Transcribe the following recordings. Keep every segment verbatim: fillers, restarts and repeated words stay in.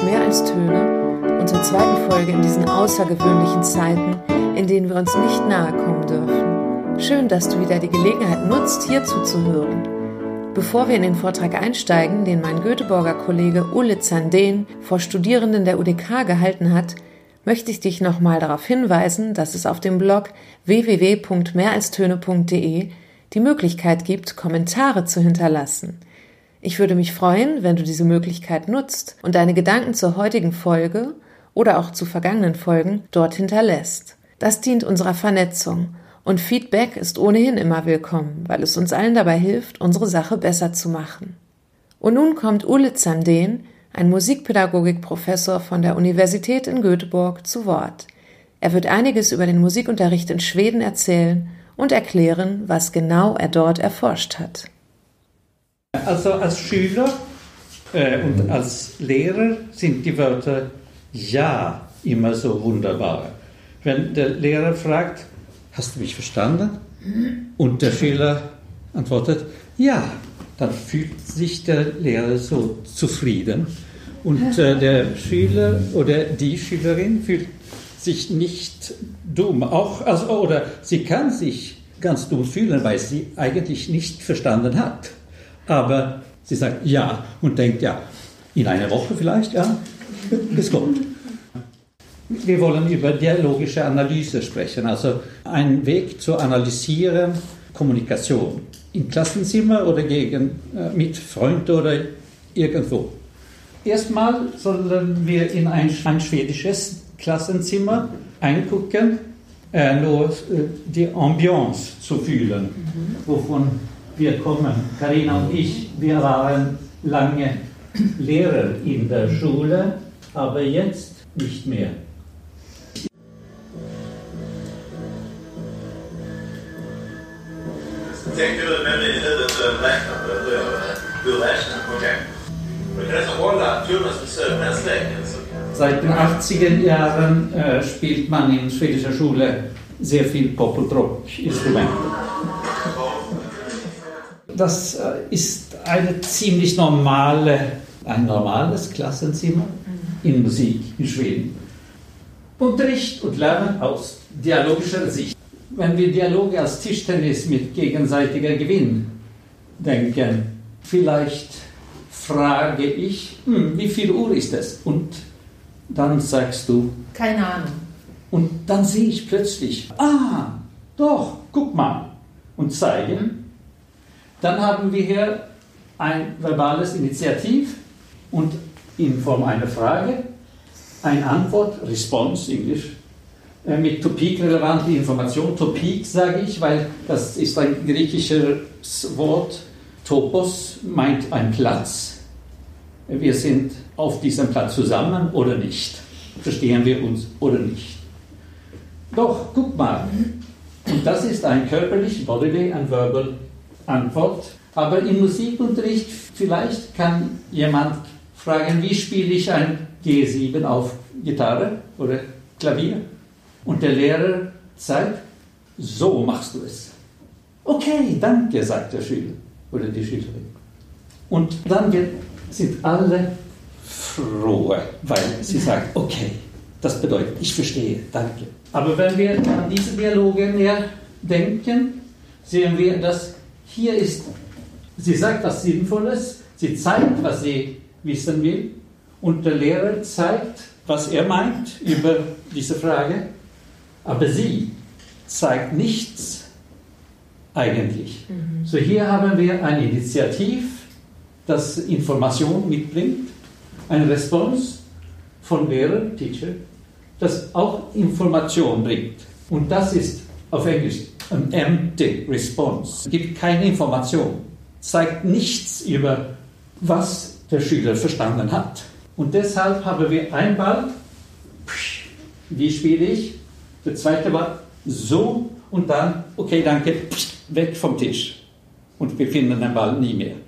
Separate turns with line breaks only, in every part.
Mehr als Töne und zur zweiten Folge in diesen außergewöhnlichen Zeiten, in denen wir uns nicht nahe kommen dürfen. Schön, dass du wieder die Gelegenheit nutzt, hier zuzuhören. Bevor wir in den Vortrag einsteigen, den mein Göteborger Kollege Ulle Zandeen vor Studierenden der U D K gehalten hat, möchte ich dich nochmal darauf hinweisen, dass es auf dem Blog w w w punkt mehr als töne punkt d e die Möglichkeit gibt, Kommentare zu hinterlassen. Ich würde mich freuen, wenn du diese Möglichkeit nutzt und deine Gedanken zur heutigen Folge oder auch zu vergangenen Folgen dort hinterlässt. Das dient unserer Vernetzung und Feedback ist ohnehin immer willkommen, weil es uns allen dabei hilft, unsere Sache besser zu machen. Und nun kommt Ulle Zandeen, ein Musikpädagogikprofessor von der Universität in Göteborg, zu Wort. Er wird einiges über den Musikunterricht in Schweden erzählen und erklären, was genau er dort erforscht hat.
Also als Schüler äh, und als Lehrer sind die Wörter ja immer so wunderbar. Wenn der Lehrer fragt, hast du mich verstanden? Und der Schüler antwortet, ja, dann fühlt sich der Lehrer so zufrieden. Und äh, der Schüler oder die Schülerin fühlt sich nicht dumm. Auch, also, oder sie kann sich ganz dumm fühlen, weil sie eigentlich nicht verstanden hat. Aber sie sagt ja und denkt, ja, in einer Woche vielleicht, ja, es kommt. Wir wollen über dialogische Analyse sprechen, also ein Weg zu analysieren, Kommunikation. Im Klassenzimmer oder gegen, äh, mit Freunden oder irgendwo. Erstmal sollen wir in ein, ein schwedisches Klassenzimmer eingucken, äh, nur äh, die Ambiance zu fühlen, mhm. wovon wir kommen. Carina und ich, wir waren lange Lehrer in der Schule, aber jetzt nicht mehr.
Tänkte du med mig huvudet räknat på hur räknar okej. Men kan alltså hålla Thomas besök nästa vecka.
Seit den achtziger Jahren äh, spielt man in schwedischer Schule sehr viel Pop- und Rock-Instrumente. Das äh, ist eine ziemlich normale, ein normales Klassenzimmer in Musik in Schweden. Unterricht und Lernen aus dialogischer Sicht. Wenn wir Dialoge als Tischtennis mit gegenseitiger Gewinn denken, vielleicht frage ich, hm, wie viel Uhr ist es? Und dann sagst du,
keine Ahnung.
Und dann sehe ich plötzlich, ah, doch, guck mal, und zeige. Dann haben wir hier ein verbales Initiativ und in Form einer Frage, eine Antwort, Response, Englisch, mit Topik-relevante Information. Topik sage ich, weil das ist ein griechisches Wort. Topos meint ein Platz. Wir sind auf diesem Platz zusammen oder nicht. Verstehen wir uns oder nicht. Doch, guck mal. Und das ist ein körperlich, bodily and verbal Antwort. Aber im Musikunterricht vielleicht kann jemand fragen, wie spiele ich ein G sieben auf Gitarre oder Klavier? Und der Lehrer sagt, so machst du es. Okay, danke, sagt der Schüler oder die Schülerin. Und dann sind alle froh, weil sie sagt, okay, das bedeutet, ich verstehe, danke. Aber wenn wir an diese Dialoge mehr denken, sehen wir, dass hier ist, sie sagt was Sinnvolles, sie zeigt, was sie wissen will, und der Lehrer zeigt, was er meint über diese Frage. Aber sie zeigt nichts eigentlich. Mhm. So hier haben wir ein Initiativ, das Information mitbringt, eine Response von Lehrer, Teacher, das auch Information bringt. Und das ist auf Englisch an empty response. Es gibt keine Information, zeigt nichts über, was der Schüler verstanden hat. Und deshalb haben wir einen Ball, wie spiele ich? Der zweite war so und dann, okay, danke, weg vom Tisch. Und wir finden den Ball nie mehr.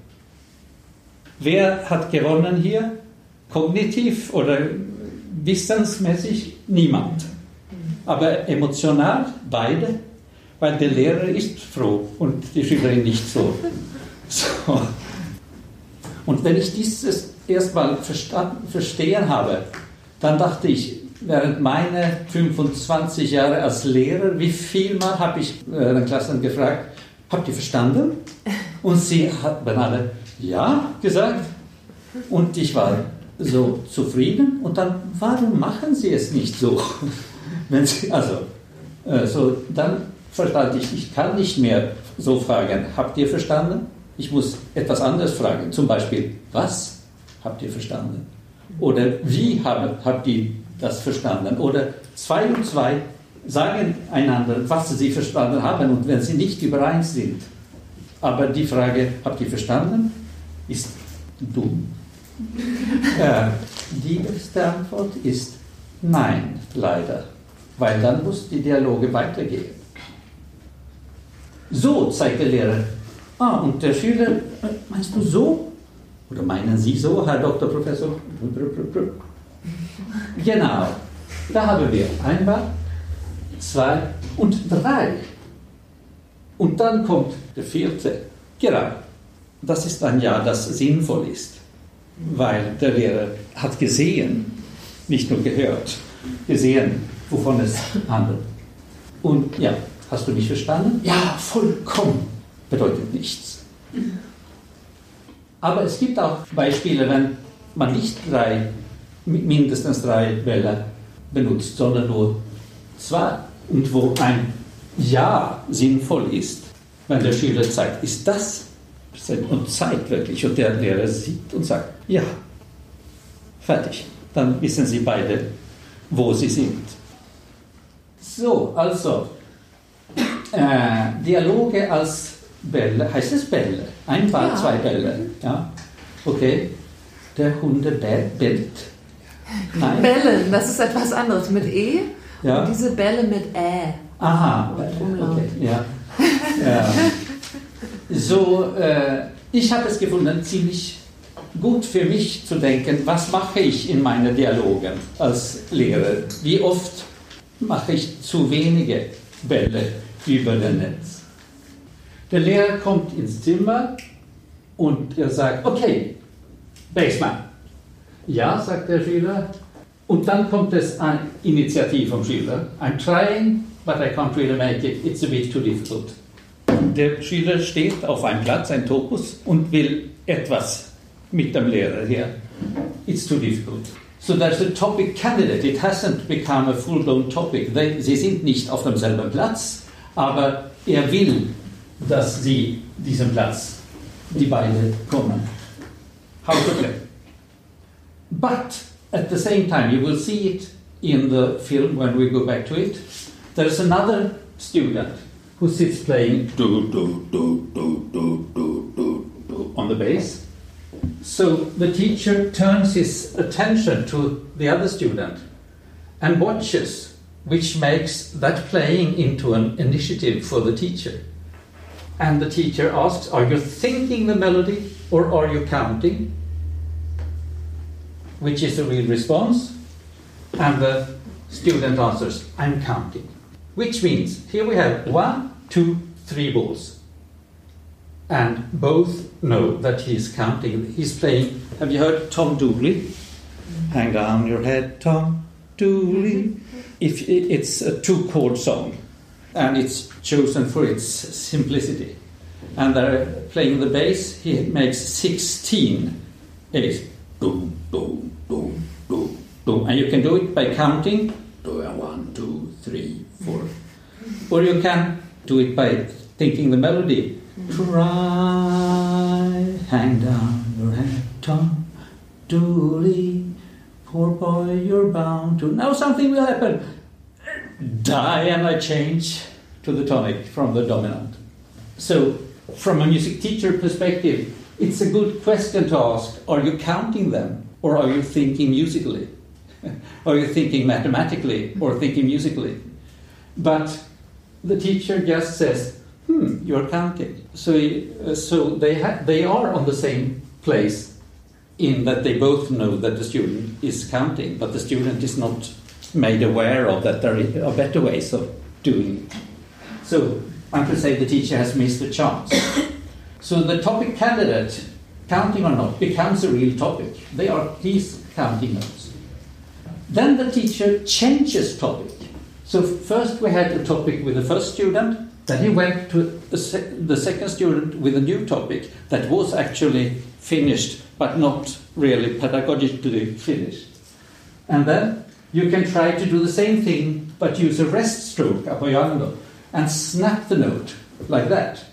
Wer hat gewonnen hier? Kognitiv oder wissensmäßig? Niemand. Aber emotional beide, weil der Lehrer ist froh und die Schülerin nicht so. so. Und wenn ich dieses erstmal verstehen habe, dann dachte ich, während meiner fünfundzwanzig Jahre als Lehrer, wie viel Mal habe ich äh, den Klassen gefragt, habt ihr verstanden? Und sie haben alle ja gesagt. Und ich war so zufrieden. Und dann, warum machen sie es nicht so? Wenn sie, also, äh, so, dann verstand ich, ich kann nicht mehr so fragen, habt ihr verstanden? Ich muss etwas anderes fragen. Zum Beispiel, was habt ihr verstanden? Oder wie habt, habt ihr das verstanden? Oder zwei und zwei sagen einander, was sie verstanden haben und wenn sie nicht überein sind. Aber die Frage, habt ihr verstanden, ist dumm. äh, die beste Antwort ist nein, leider. Weil dann muss die Dialoge weitergehen. So, zeigt der Lehrer. Ah, und der Schüler, meinst du so? Oder meinen Sie so, Herr Doktor Professor? Genau. Da haben wir einmal, zwei und drei. Und dann kommt der vierte. Genau. Das ist ein Ja, das sinnvoll ist. Weil der Lehrer hat gesehen, nicht nur gehört, gesehen, wovon es handelt. Und ja, hast du mich verstanden? Ja, vollkommen. Bedeutet nichts. Aber es gibt auch Beispiele, wenn man nicht drei, mindestens drei Bälle benutzt, sondern nur zwei. Und wo ein Ja sinnvoll ist, wenn der Schüler zeigt, ist das und zeigt wirklich und der Lehrer sieht und sagt, ja, fertig. Dann wissen sie beide, wo sie sind. So, also, äh, Dialoge als Bälle, heißt es Bälle? Ein Ball, ja. Zwei Bälle. Ja? Okay. Der Hunde bellt. Nein.
Bellen, das ist etwas anderes mit E.
Ja.
Und diese Bälle mit Ä.
Aha. Okay. Ja. Ja. So, äh, ich habe es gefunden, ziemlich gut für mich zu denken, was mache ich in meinen Dialogen als Lehrer? Wie oft mache ich zu wenige Bälle über das Netz? Der Lehrer kommt ins Zimmer und er sagt, okay, Baseman. Ja, sagt der Schüler. Und dann kommt es eine Initiative vom Schüler. I'm trying, but I can't really make it. It's a bit too difficult. Der Schüler steht auf einem Platz, ein Topos, und will etwas mit dem Lehrer hier. It's too difficult. So there's a topic candidate. It hasn't become a full-blown topic. They, sie sind nicht auf demselben Platz, aber er will, dass sie diesen Platz, die beiden kommen. How to play. But at the same time, you will see it in the film when we go back to it. There's another student who sits playing do, do, do, do, do, do, do, do on the bass. So the teacher turns his attention to the other student and watches, which makes that playing into an initiative for the teacher. And the teacher asks, are you thinking the melody or are you counting? Which is the real response? And the student answers, I'm counting. Which means, here we have one, two, three balls. And both know that he's counting. He's playing, have you heard Tom Dooley? Mm-hmm. Hang down your head, Tom Dooley. If it, it's a two-chord song, and it's chosen for its simplicity. And they're playing the bass, he makes sixteen. It is boom, boom, boom, boom, boom. And you can do it by counting. One, two, three, four. Or you can do it by thinking the melody. Try, hang down your head, Tom Dooley. Poor boy, you're bound to. Now something will happen. Die, and I change to the tonic from the dominant. So, from a music teacher perspective, it's a good question to ask, are you counting them or are you thinking musically? Are you thinking mathematically or thinking musically? But the teacher just says, hmm, you're counting. So, uh, so they, ha- they are on the same place in that they both know that the student is counting, but the student is not made aware of that there are better ways of doing it. So I could say the teacher has missed a chance. So the topic candidate counting or not, becomes a real topic. They are these counting notes. Then the teacher changes topic. So first we had a topic with the first student, then he went to the, sec- the second student with a new topic that was actually finished, but not really pedagogically finished. And then you can try to do the same thing, but use a rest stroke, apoyando, and snap the note like that.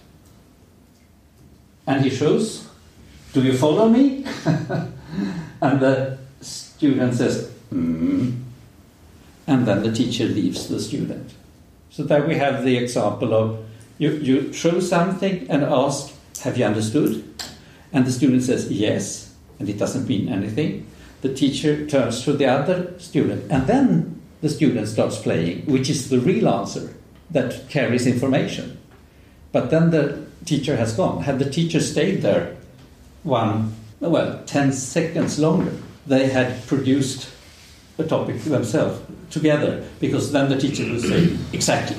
And he shows, do you follow me? And the student says, mm. And then the teacher leaves the student. So there we have the example of, you, you show something and ask, have you understood? And the student says, yes, and it doesn't mean anything. The teacher turns to the other student, and then the student starts playing, which is the real answer that carries information. But then the teacher has gone. Had the teacher stayed there one, well, ten seconds longer, they had produced a topic themselves together, because then the teacher would say, exactly.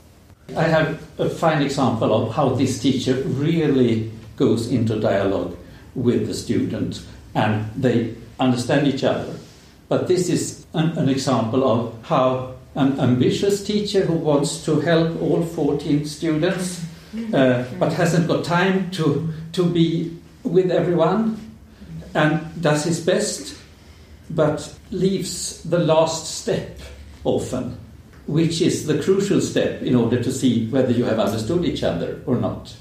I have a fine example of how this teacher really goes into dialogue with the student, and they understand each other. But this is an, an example of how an ambitious teacher who wants to help all fourteen students uh, but hasn't got time to, to be with everyone and does his best but leaves the last step often, which is the crucial step in order to see whether you have understood each other or not.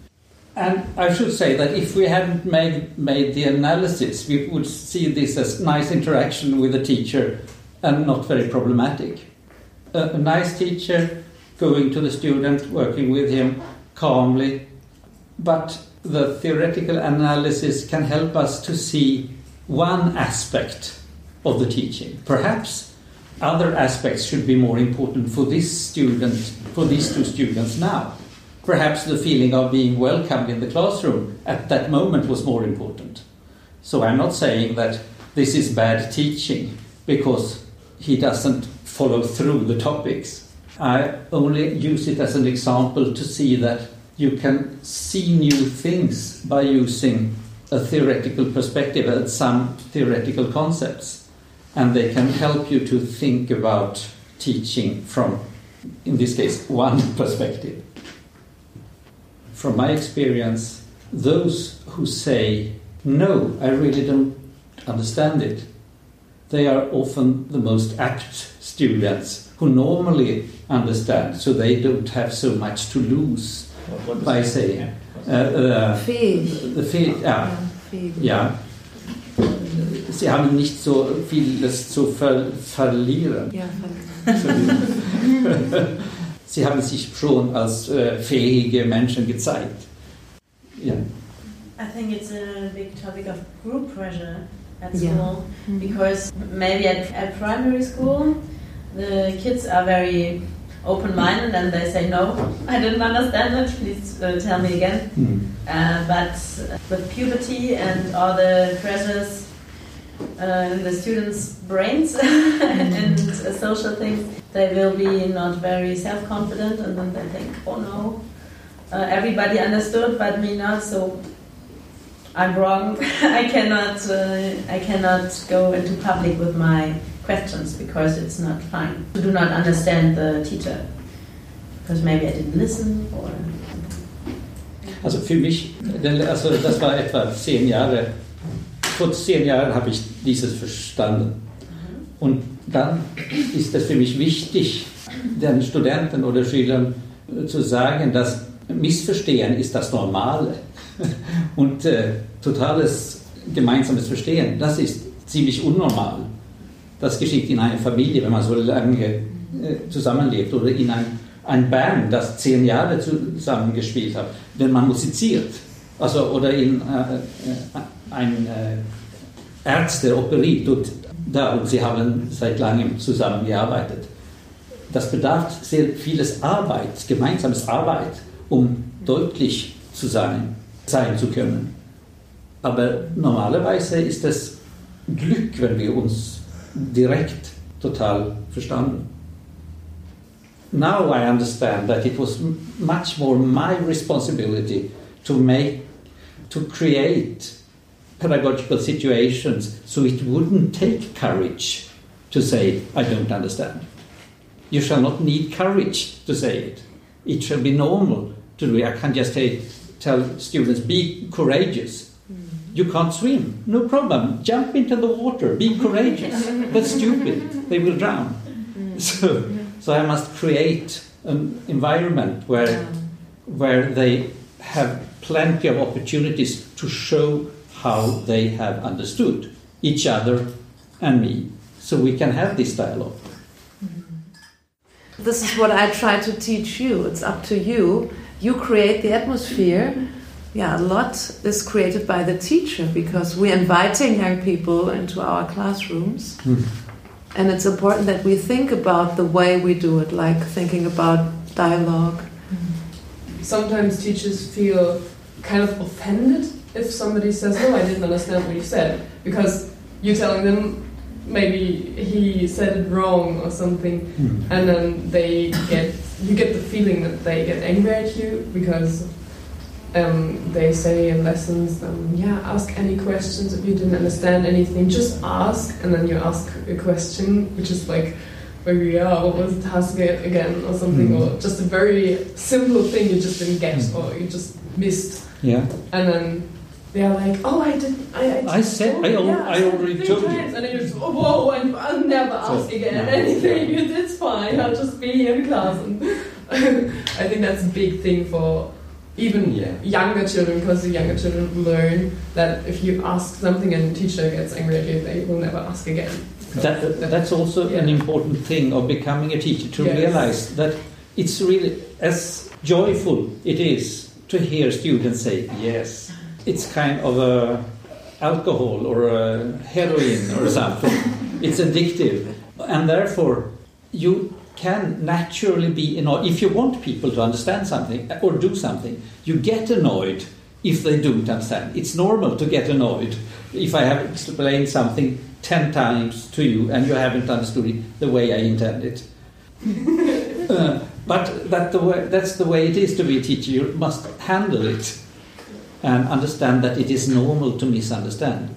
And I should say that if we hadn't made, made the analysis, we would see this as nice interaction with the teacher and not very problematic. A, a nice teacher going to the student, working with him calmly, but the theoretical analysis can help us to see one aspect of the teaching. Perhaps other aspects should be more important for this student, for these two students now. Perhaps the feeling of being welcomed in the classroom at that moment was more important. So I'm not saying that this is bad teaching because he doesn't follow through the topics. I only use it as an example to see that you can see new things by using a theoretical perspective at some theoretical concepts. And they can help you to think about teaching from, in this case, one perspective. From my experience, those who say, no, I really don't understand it, they are often the most apt students who normally understand, so they don't have so much to lose by saying. Uh, uh,
Fähig.
The fähig, ja. Ja. Sie haben nicht so vieles zu ver verlieren.
Ja.
Sie haben sich schon als äh, fähige Menschen gezeigt. Ja.
I think it's a big topic of group pressure at
Yeah.
school,
Mm-hmm.
because maybe at, at primary school the kids are very open-minded and they say, no, I didn't understand it, please uh, tell me again.
Mm.
Uh, but with puberty and all the pressures uh, in the students' brains and uh, social things, they will be not very self-confident, and then they think, oh no, uh, everybody understood but me not, so I'm wrong. I cannot uh, I cannot go into public with my questions because it's not fine. I do not understand the teacher because maybe I didn't listen or...
Also für mich, also das war etwa zehn Jahre, vor zehn Jahren habe ich dieses verstanden. Und dann ist es für mich wichtig, den Studenten oder Schülern zu sagen, dass Missverstehen ist das Normale. Und äh, totales gemeinsames Verstehen, das ist ziemlich unnormal. Das geschieht in einer Familie, wenn man so lange äh, zusammenlebt, oder in ein, ein Band, das zehn Jahre zusammengespielt hat, wenn man musiziert. Also, oder in äh, äh, ein äh, Ärzte operiert und da, und sie haben seit langem zusammengearbeitet. Das bedarf sehr vieles Arbeit, gemeinsames Arbeit, um deutlich zu sein, sein zu können. Aber normalerweise ist es Glück, wenn wir uns direkt total verstanden. Now I understand that it was much more my responsibility to make, to create pedagogical situations, so it wouldn't take courage to say, I don't understand. You shall not need courage to say it. It shall be normal to do it. I can't just say, tell students, be courageous. You can't swim, no problem. Jump into the water, be courageous. That's stupid, they will drown. So, so I must create an environment where, where they have plenty of opportunities to show how they have understood each other and me, so we can have this dialogue.
This is what I try to teach you. It's up to you. You create the atmosphere. Yeah, a lot is created by the teacher because we're inviting young people into our classrooms. Mm. And it's important that we think about the way we do it, like thinking about dialogue.
Sometimes teachers feel kind of offended if somebody says, no, I didn't understand what you said, because you're telling them maybe he said it wrong or something, mm. and then they get you get the feeling that they get angry at you because um, they say in lessons, um, yeah, ask any questions if you didn't understand anything, just ask, and then you ask a question which is like, maybe, yeah, what was the task again or something, mm. or just a very simple thing you just didn't get mm. or you just missed.
Yeah.
And then they're like, oh, I did. I, I,
I said, I, al-
yeah,
I already told you.
And then you just, oh, whoa, and I'll never ask so, again no, anything. Yeah. It's fine. I'll just be here in class. And I think that's a big thing for even yeah. younger children, because the younger children learn that if you ask something and the teacher gets angry at you, they will never ask again.
That, that's also yeah. an important thing of becoming a teacher, to yes. realize that it's really, as joyful it is to hear students say yes. It's kind of a alcohol or a heroin or something. It's addictive. And therefore, you can naturally be annoyed. If you want people to understand something or do something, you get annoyed if they don't understand. It's normal to get annoyed if I have explained something ten times to you and you haven't understood it the way I intended. uh, but that the way, that's the way it is to be a teacher. You must handle it and understand that it is normal to misunderstand.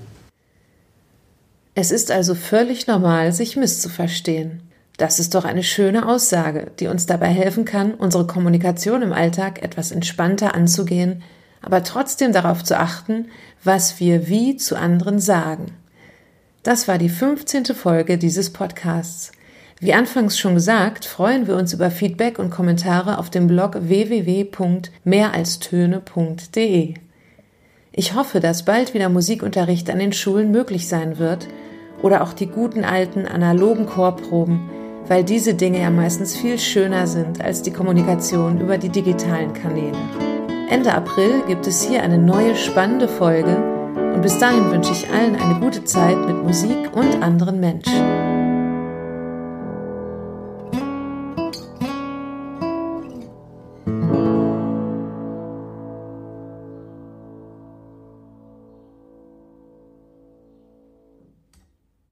Es ist also völlig normal, sich misszuverstehen. Das ist doch eine schöne Aussage, die uns dabei helfen kann, unsere Kommunikation im Alltag etwas entspannter anzugehen, aber trotzdem darauf zu achten, was wir wie zu anderen sagen. Das war die fünfzehnte Folge dieses Podcasts. Wie anfangs schon gesagt, freuen wir uns über Feedback und Kommentare auf dem Blog w w w punkt mehr als töne punkt d e. Ich hoffe, dass bald wieder Musikunterricht an den Schulen möglich sein wird oder auch die guten alten analogen Chorproben, weil diese Dinge ja meistens viel schöner sind als die Kommunikation über die digitalen Kanäle. Ende April gibt es hier eine neue spannende Folge und bis dahin wünsche ich allen eine gute Zeit mit Musik und anderen Menschen.